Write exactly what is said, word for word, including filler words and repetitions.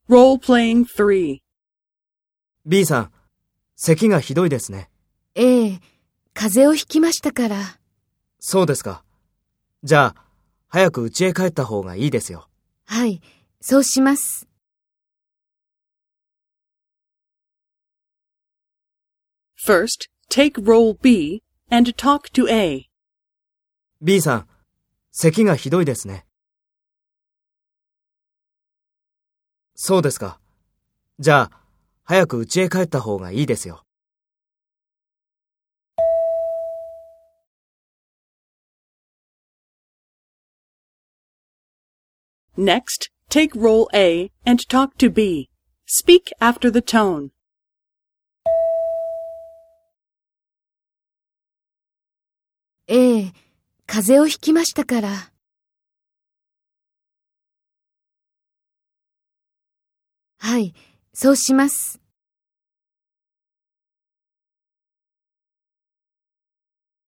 Role-playing three. B さん、咳がひどいですね。 ええ、風邪をひきましたから。 そうですか。じゃあ、早く家へ帰った方がいいですよ。 はい、そうします。 First, take role B and talk to A. B さん、咳がひどいですね。そうですか。じゃあ、早く家へ帰った方がいいですよ。 Next, take role A and talk to B. Speak after the tone. ええ、風邪をひきましたから。はい、そうします。